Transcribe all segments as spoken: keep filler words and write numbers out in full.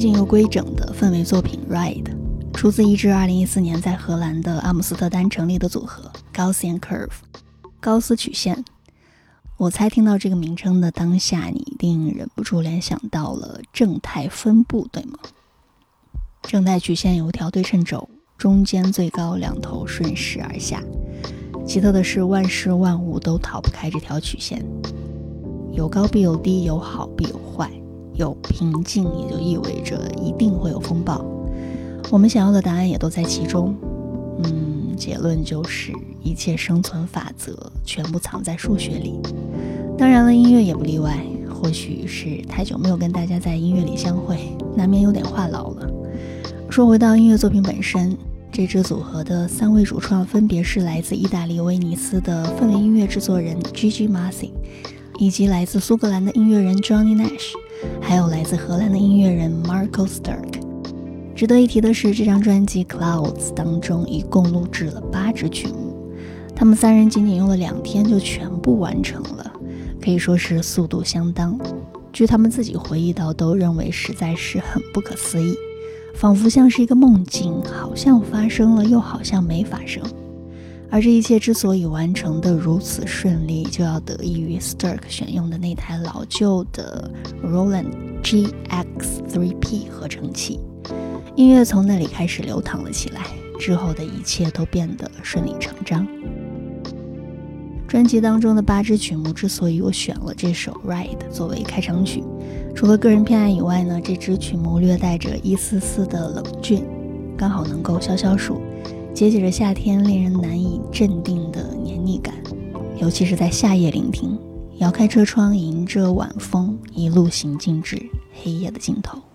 净又规整的氛围作品 Ride， 出自一支二零一四年在荷兰的阿姆斯特丹成立的组合 Gaussian Curve 高斯曲线。我猜听到这个名称的当下，你一定忍不住联想到了正态分布，对吗？正态曲线有一条对称轴，中间最高，两头顺势而下。奇特的是，万事万物都逃不开这条曲线，有高必有低，有好必有坏，有平静也就意味着一定会有风暴。我们想要的答案也都在其中。嗯，结论就是一切生存法则全部藏在数学里。当然了，音乐也不例外。或许是太久没有跟大家在音乐里相会，难免有点话痨了。说回到音乐作品本身，这支组合的三位主创分别是来自意大利威尼斯的氛围音乐制作人 Gigi Massi， 以及来自苏格兰的音乐人 Johnny Nash， 还有来自荷兰的音乐人 Marco Sterk。 值得一提的是，这张专辑 Clouds 当中一共录制了八支曲目，他们三人仅仅用了两天就全部完成了，可以说是速度相当。据他们自己回忆到，都认为实在是很不可思议，仿佛像是一个梦境，好像发生了又好像没发生。而这一切之所以完成的如此顺利，就要得益于 Sterk 选用的那台老旧的 Roland G X 三 P 合成器。音乐从那里开始流淌了起来，之后的一切都变得顺理成章。专辑当中的八支曲目之所以我选了这首 Ride 作为开场曲，除了个人偏爱以外呢，这支曲目略带着一丝丝的冷峻，刚好能够消消暑，解解着夏天令人难以镇定的黏腻感。尤其是在夏夜聆听，摇开车窗，迎着晚风，一路行进至黑夜的尽头。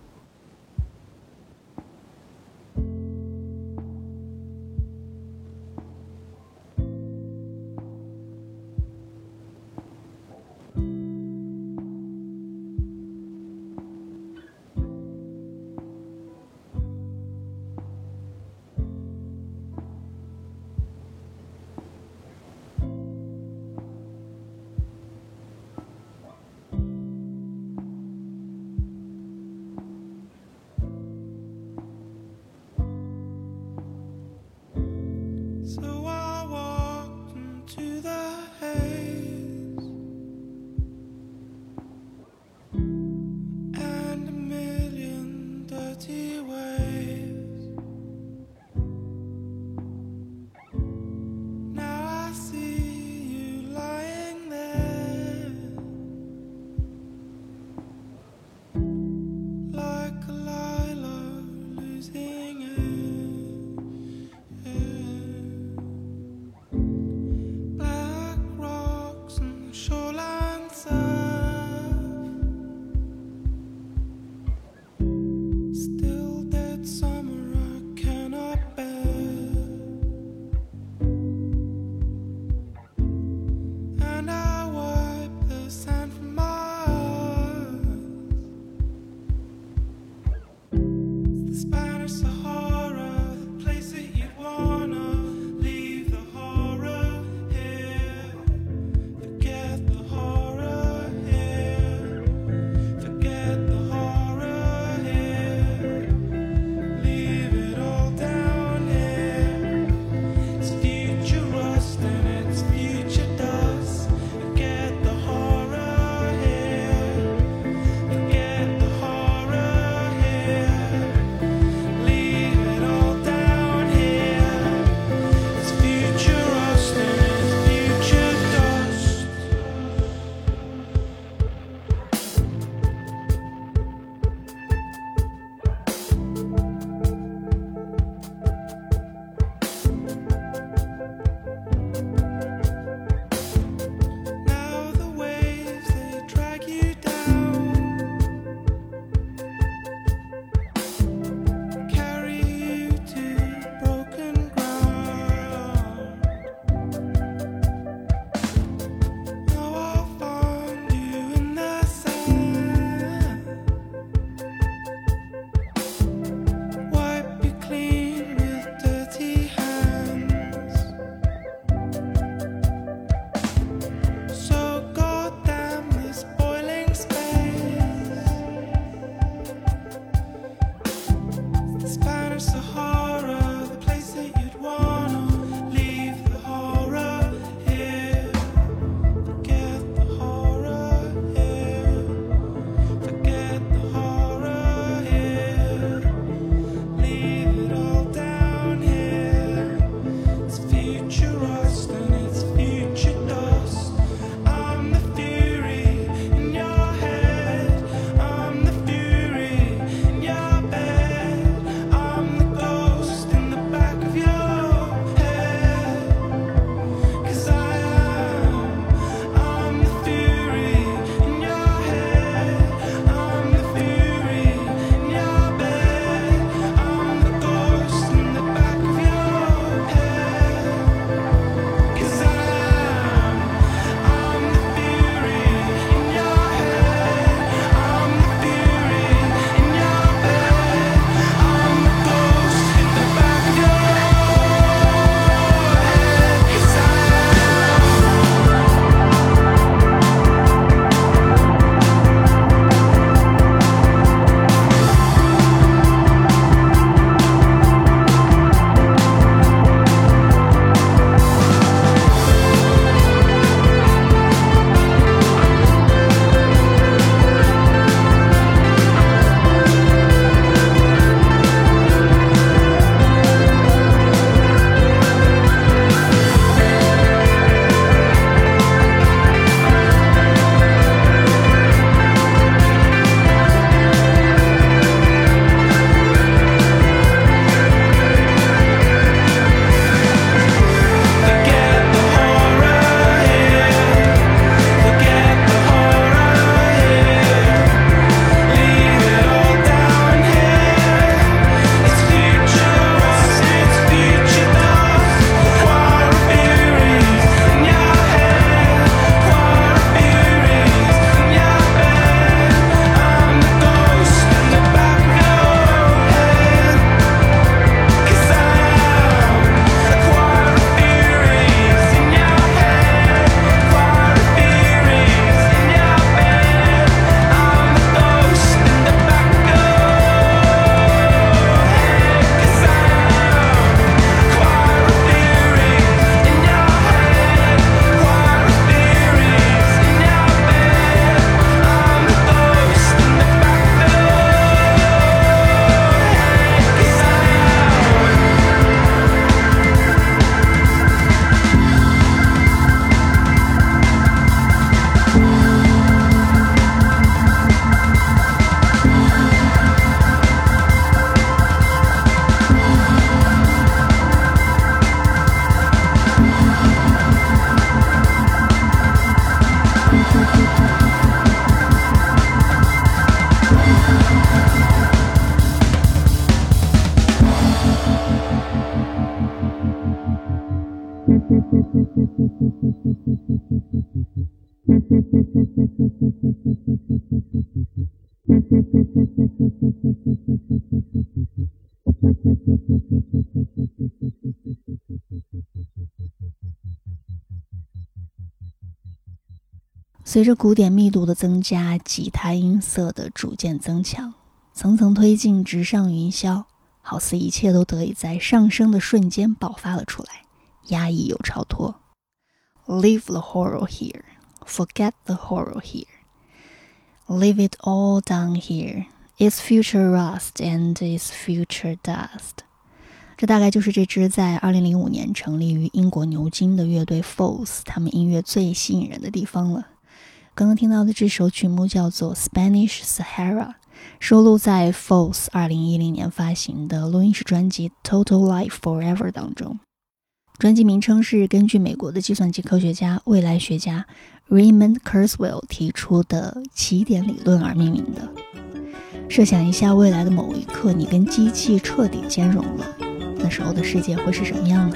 随着鼓点密度的增加，吉他音色的逐渐增强，层层推进，直上云霄，好似一切都得以在上升的瞬间爆发了出来，压抑又超脱。 Leave the horror here, forget the horror here, leave it all down here, it's future rust and it's future dust。 这大概就是这支在二零零五年成立于英国牛津的乐队 Foals 他们音乐最吸引人的地方了。刚刚听到的这首曲目叫做 Spanish Sahara， 收录在 Foals 二零一零年发行的录音室专辑 Total Life Forever 当中。专辑名称是根据美国的计算机科学家、未来学家 Raymond Kurzweil 提出的起点理论而命名的。设想一下，未来的某一刻，你跟机器彻底兼容了，那时候的世界会是什么样呢？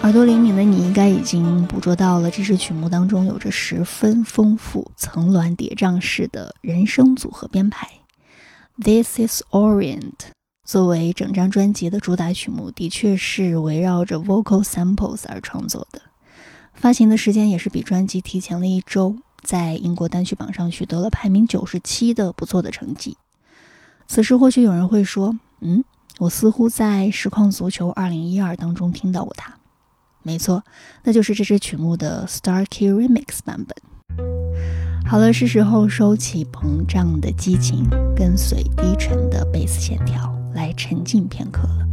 耳朵灵敏的你应该已经捕捉到了这支曲目当中有着十分丰富层峦叠嶂式的人声组合编排。 This is Orient 作为整张专辑的主打曲目，的确是围绕着 vocal samples 而创作的。发行的时间也是比专辑提前了一周，在英国单曲榜上取得了排名九十七的不错的成绩。此时或许有人会说，嗯，我似乎在实况足球二零一二当中听到过它。没错，那就是这支曲目的 Starkey Remix 版本。好了，是时候收起膨胀的激情，跟随低沉的贝斯线条来沉浸片刻了。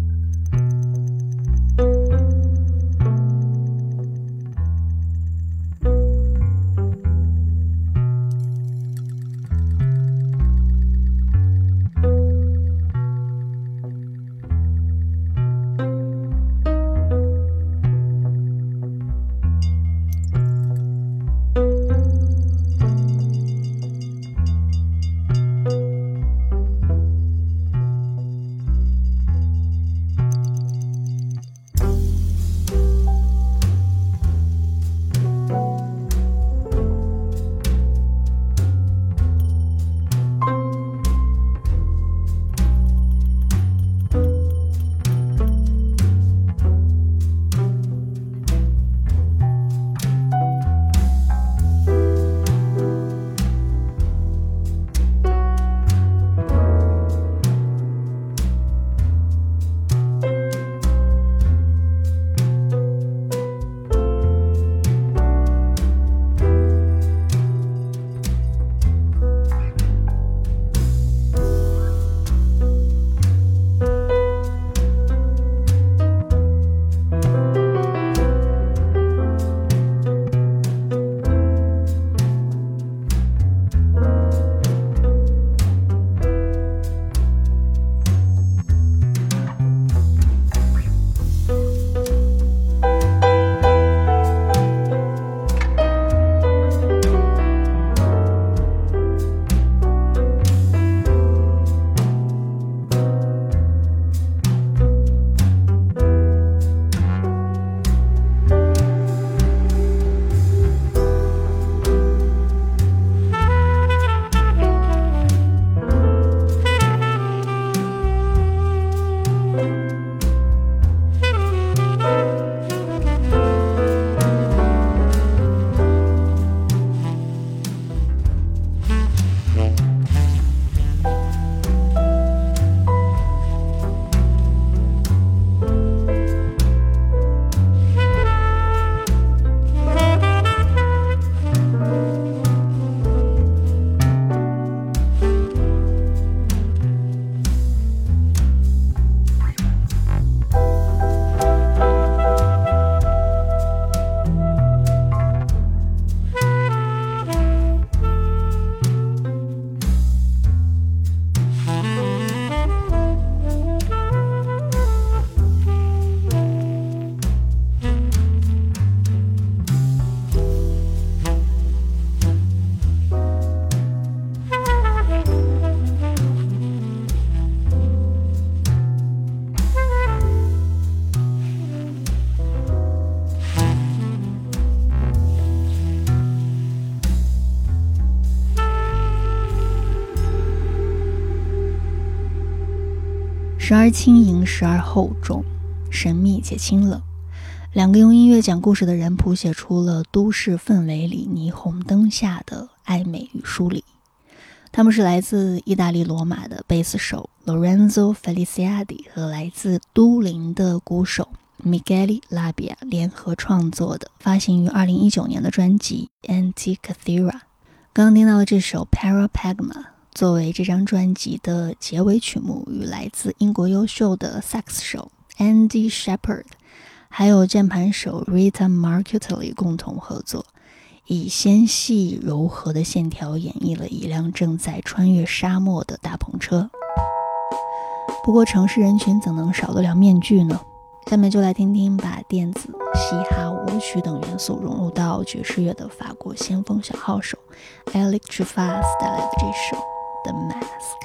时而轻盈，时而厚重，神秘且清冷。两个用音乐讲故事的人谱写出了都市氛围里霓虹灯下的暧昧与疏离。他们是来自意大利罗马的贝斯手 Lorenzo Feliciati 和来自都灵的鼓手 Michele Labbia 联合创作的，发行于二零一九年的专辑 Antikythera。 刚刚听到的这首 Parapagma 作为这张专辑的结尾曲目，与来自英国优秀的萨克斯手 Andy Shepherd 还有键盘手 Rita Marcutelli 共同合作，以纤细柔和的线条演绎了一辆正在穿越沙漠的大篷车。不过城市人群怎能少得了面具呢？下面就来听听把电子、嘻哈、舞曲等元素融入到爵士乐的法国先锋小号手 Alex Truffaz 带来的这首 The Mask。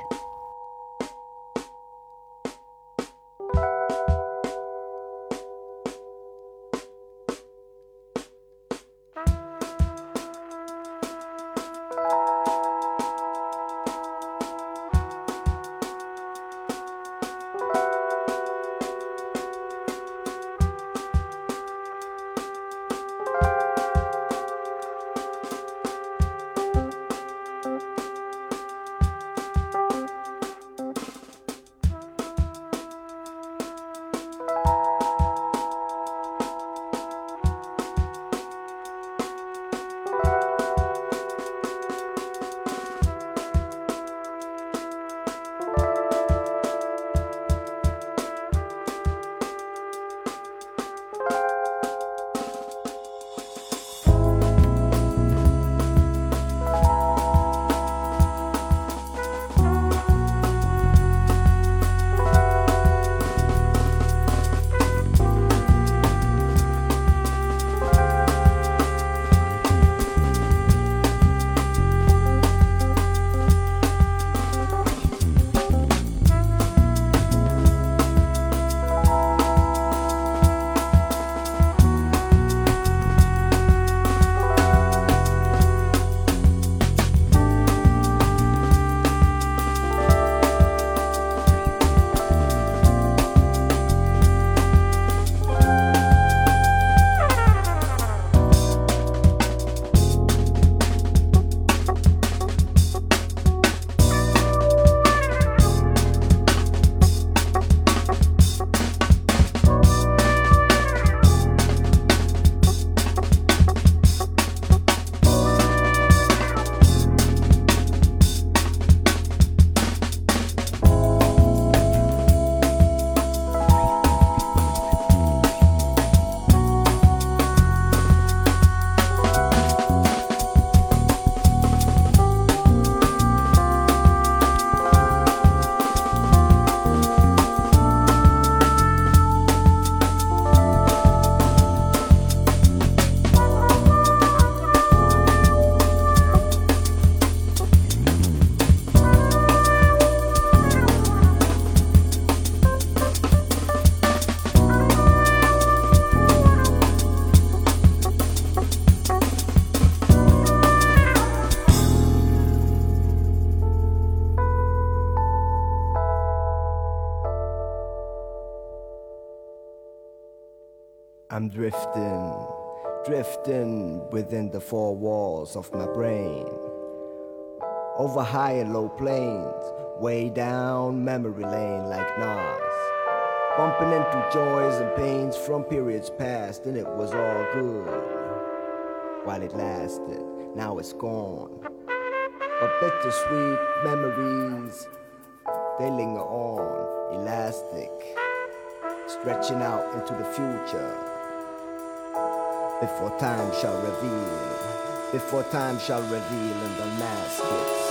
I'm drifting, drifting within the four walls of my brain, over high and low plains, way down memory lane like Nas, bumping into joys and pains from periods past, and it was all good while it lasted. Now it's gone, but bittersweet memories, they linger on, elastic, stretching out into the future. Before time shall reveal, before time shall reveal and unmask it.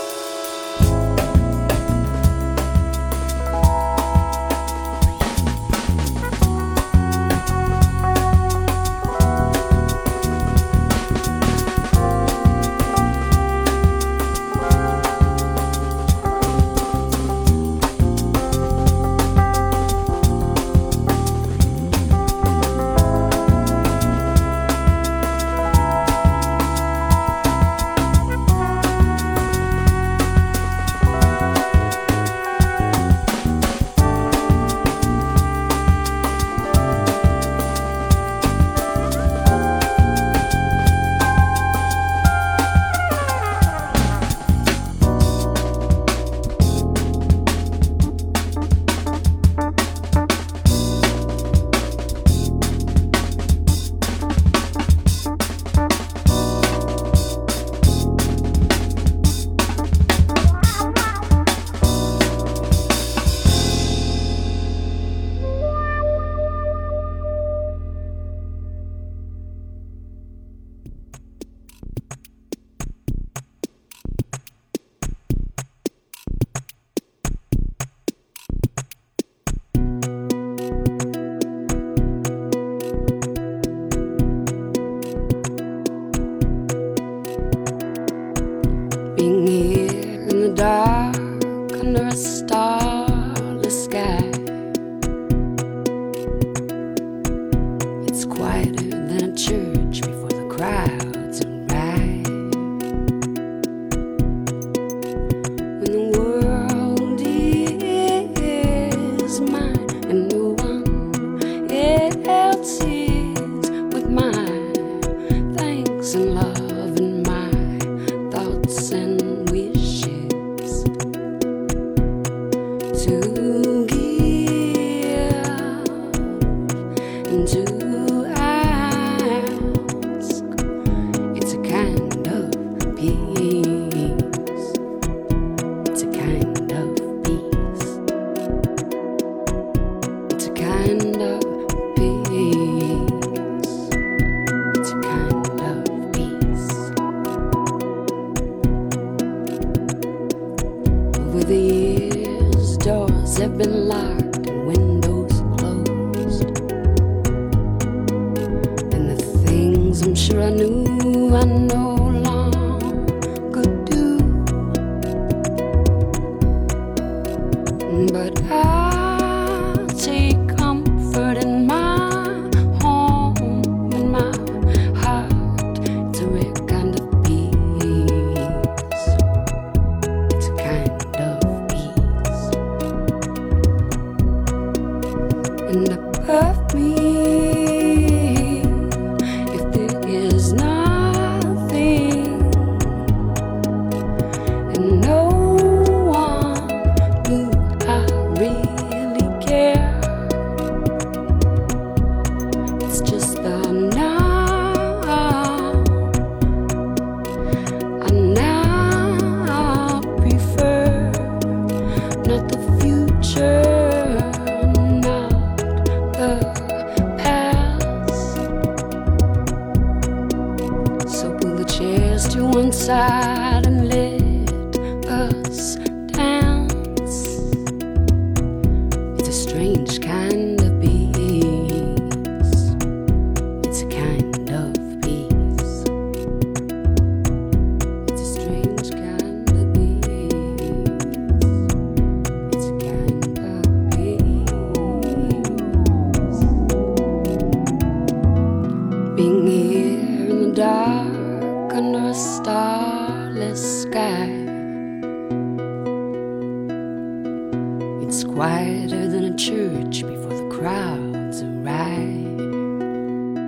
Being here in the dark under a starless sky, it's quieter than a church before the crowds arrive. When the world is mine and no one else is, with my thanks and love and my thoughts and wishes to give and to ask, it's a kind of peace, it's a kind of peace, it's a kind of peace, it's a kind of peace. Over the years, doors have been locked and windows closed, and the things I'm sure I knew I no longer do. But I take comfort in my home, in my heart. It's a rare kind of peace. It's a kind of peace. And above me, if there is nothing and no one who I really care, it's just the now. I now prefer not the future, not the past. So pull the chairs to one side and let us dance. It's a strange kind of peace. It's a kind of peace. It's a strange kind of peace. It's a kind of peace. Being here in the dark under a starless sky, it's quieter than a church before the crowds arrive.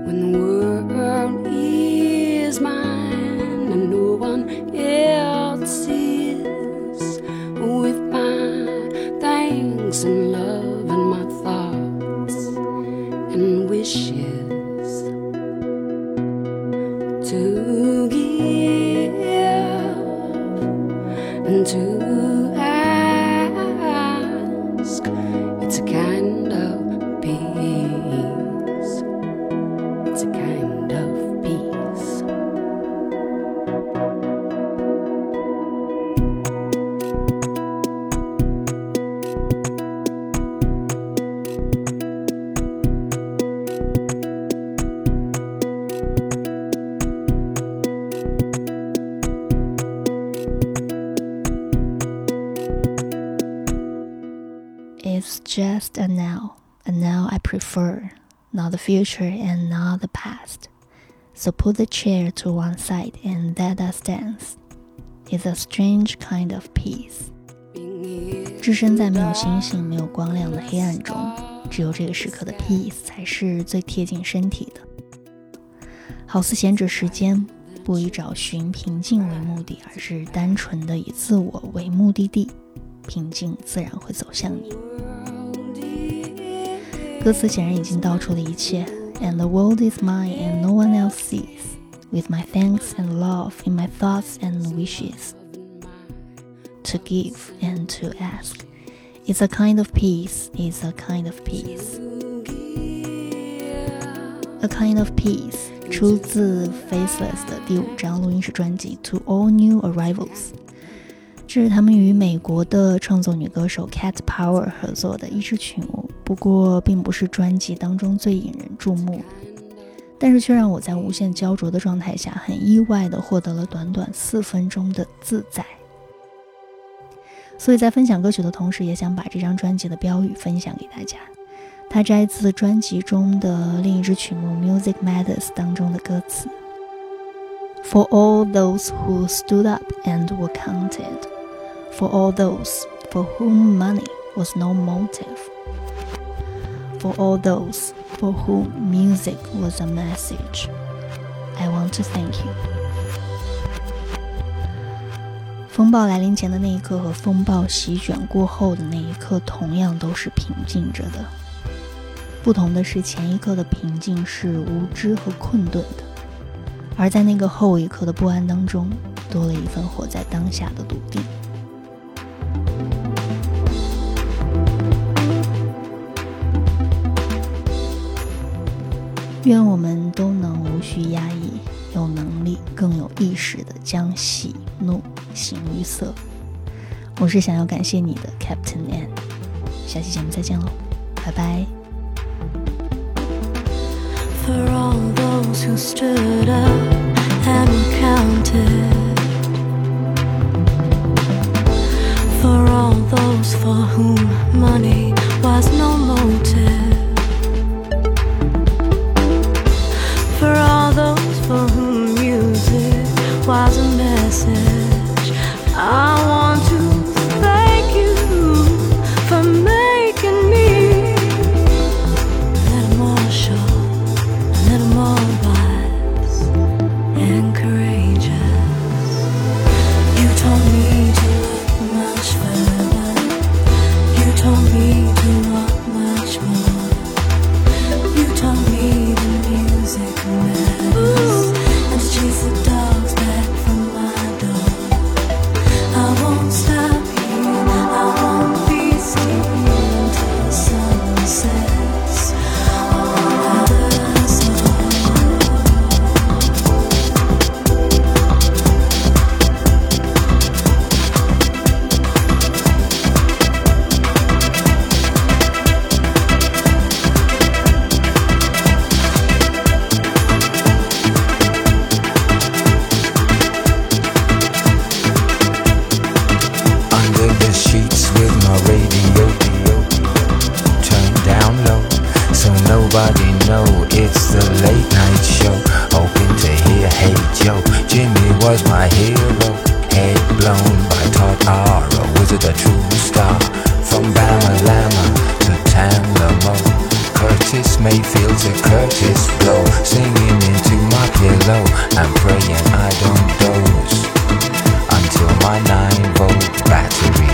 when the world is mine and no one else is, with my thanks and love and my thoughts and wishes to give and to ask. It's a kind of peace. It's a kind of peace. It's just a now, a now I prefer, not the future and not the past. So put the chair to one side and let us dance. It's a strange kind of peace. 置身在没有星星、没有光亮的黑暗中，只有这个时刻的 peace 才是最贴近身体的。好似闲着时间，不以找寻平静为目的，而是单纯的以自我为目的地，平静自然会走向你。歌词显然已经道出了一切 And the world is mine and no one else sees, with my thanks and love in my thoughts and wishes, to give and to ask. It's a kind of peace, it's a kind of peace. A kind of peace 出自 Faceless 的第五张录音室专辑 To All New Arrivals， 这是他们与美国的创作女歌手 Cat Power 合作的一支曲目，不过并不是专辑当中最引人注目，但是却让我在无限焦灼的状态下很意外地获得了短短四分钟的自在。所以在分享歌曲的同时，也想把这张专辑的标语分享给大家。它摘自专辑中的另一支曲目 Music Matters 当中的歌词 For all those who stood up and were counted, For all those for whom money was no motive, For all those for whom music was a message, I want to thank you. 风暴来临前的那一刻和风暴席卷过后的那一刻同样都是平静着的，不同的是前一刻的平静是无知和困顿的，而在那个后一刻的不安当中多了一份活在当下的笃定。愿我们都能无需压抑，有能力更有意识地将喜怒形于色。我是想要感谢你的 Captain N， 下期节目再见喽，拜拜。 For all those who stood up and were counted, for all those for whom money was no motive, for all those for whom music was a message, I want to thank you for making me a little more sure, a little more wise and courageous. You told me to look much further, you told me to want much more, you told me the music matters, and to chase the dogs back from my door. I won't stop here, I won't be still until the sun sets over us all. Under the sheets with my radio turned down low, so nobody know it's the late night show. Hoping to hear Hey Joe, Jimmy was my hero. Head blown by Todd Ara, was it a true star? From Bama Lama to Tanglamo, Kurt Curtis Mayfield to Curtis Blow, singing into my pillow and praying I don't doze until my nine volt battery